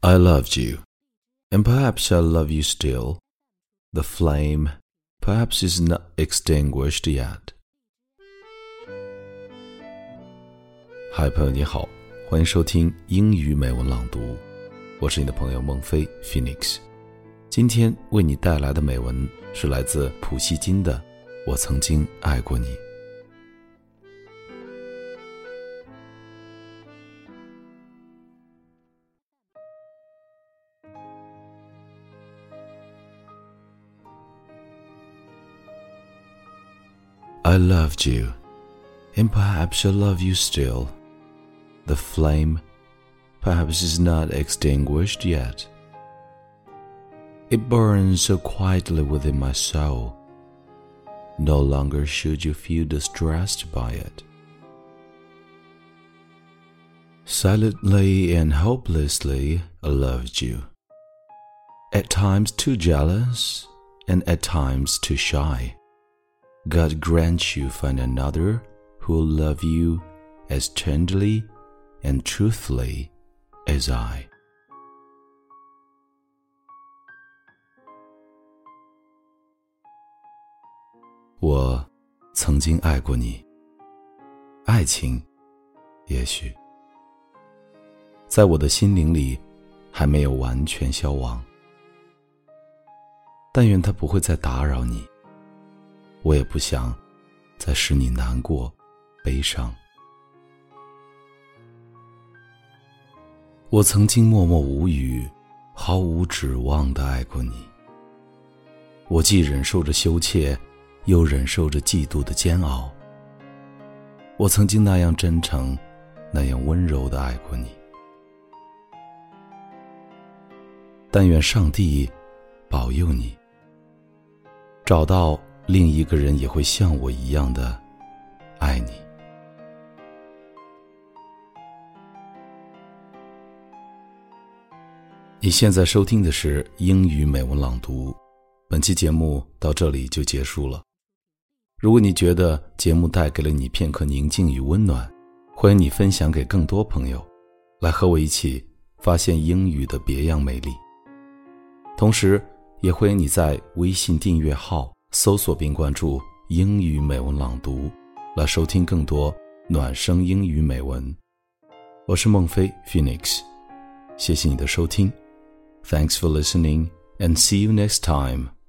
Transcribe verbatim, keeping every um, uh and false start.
I loved you, and perhaps I love you still. The flame perhaps is not extinguished yet. 嗨，朋友你好，欢迎收听英语美文朗读，我是你的朋友孟非 Phoenix。今天为你带来的美文是来自普希金的《我曾经爱过你》。I loved you, and perhaps I love you still. The flame perhaps is not extinguished yet. It burns so quietly within my soul. No longer should you feel distressed by it. Silently and hopelessly I loved you. At times too jealous, and at times too shy.God grant you find another who will love you as tenderly and truthfully as I. 我曾经爱过你，爱情也许在我的心灵里还没有完全消亡，但愿它不会再打扰你，我也不想再使你难过悲伤。我曾经默默无语，毫无指望地爱过你，我既忍受着羞怯，又忍受着嫉妒的煎熬。我曾经那样真诚，那样温柔地爱过你。但愿上帝保佑你，找到另一个人也会像我一样的爱你。你现在收听的是英语美文朗读，本期节目到这里就结束了。如果你觉得节目带给了你片刻宁静与温暖，欢迎你分享给更多朋友，来和我一起发现英语的别样美丽。同时也欢迎你在微信订阅号搜索并关注英语美文朗读，来收听更多暖声英语美文。我是孟非 Phoenix， 谢谢你的收听。Thanks for listening and see you next time.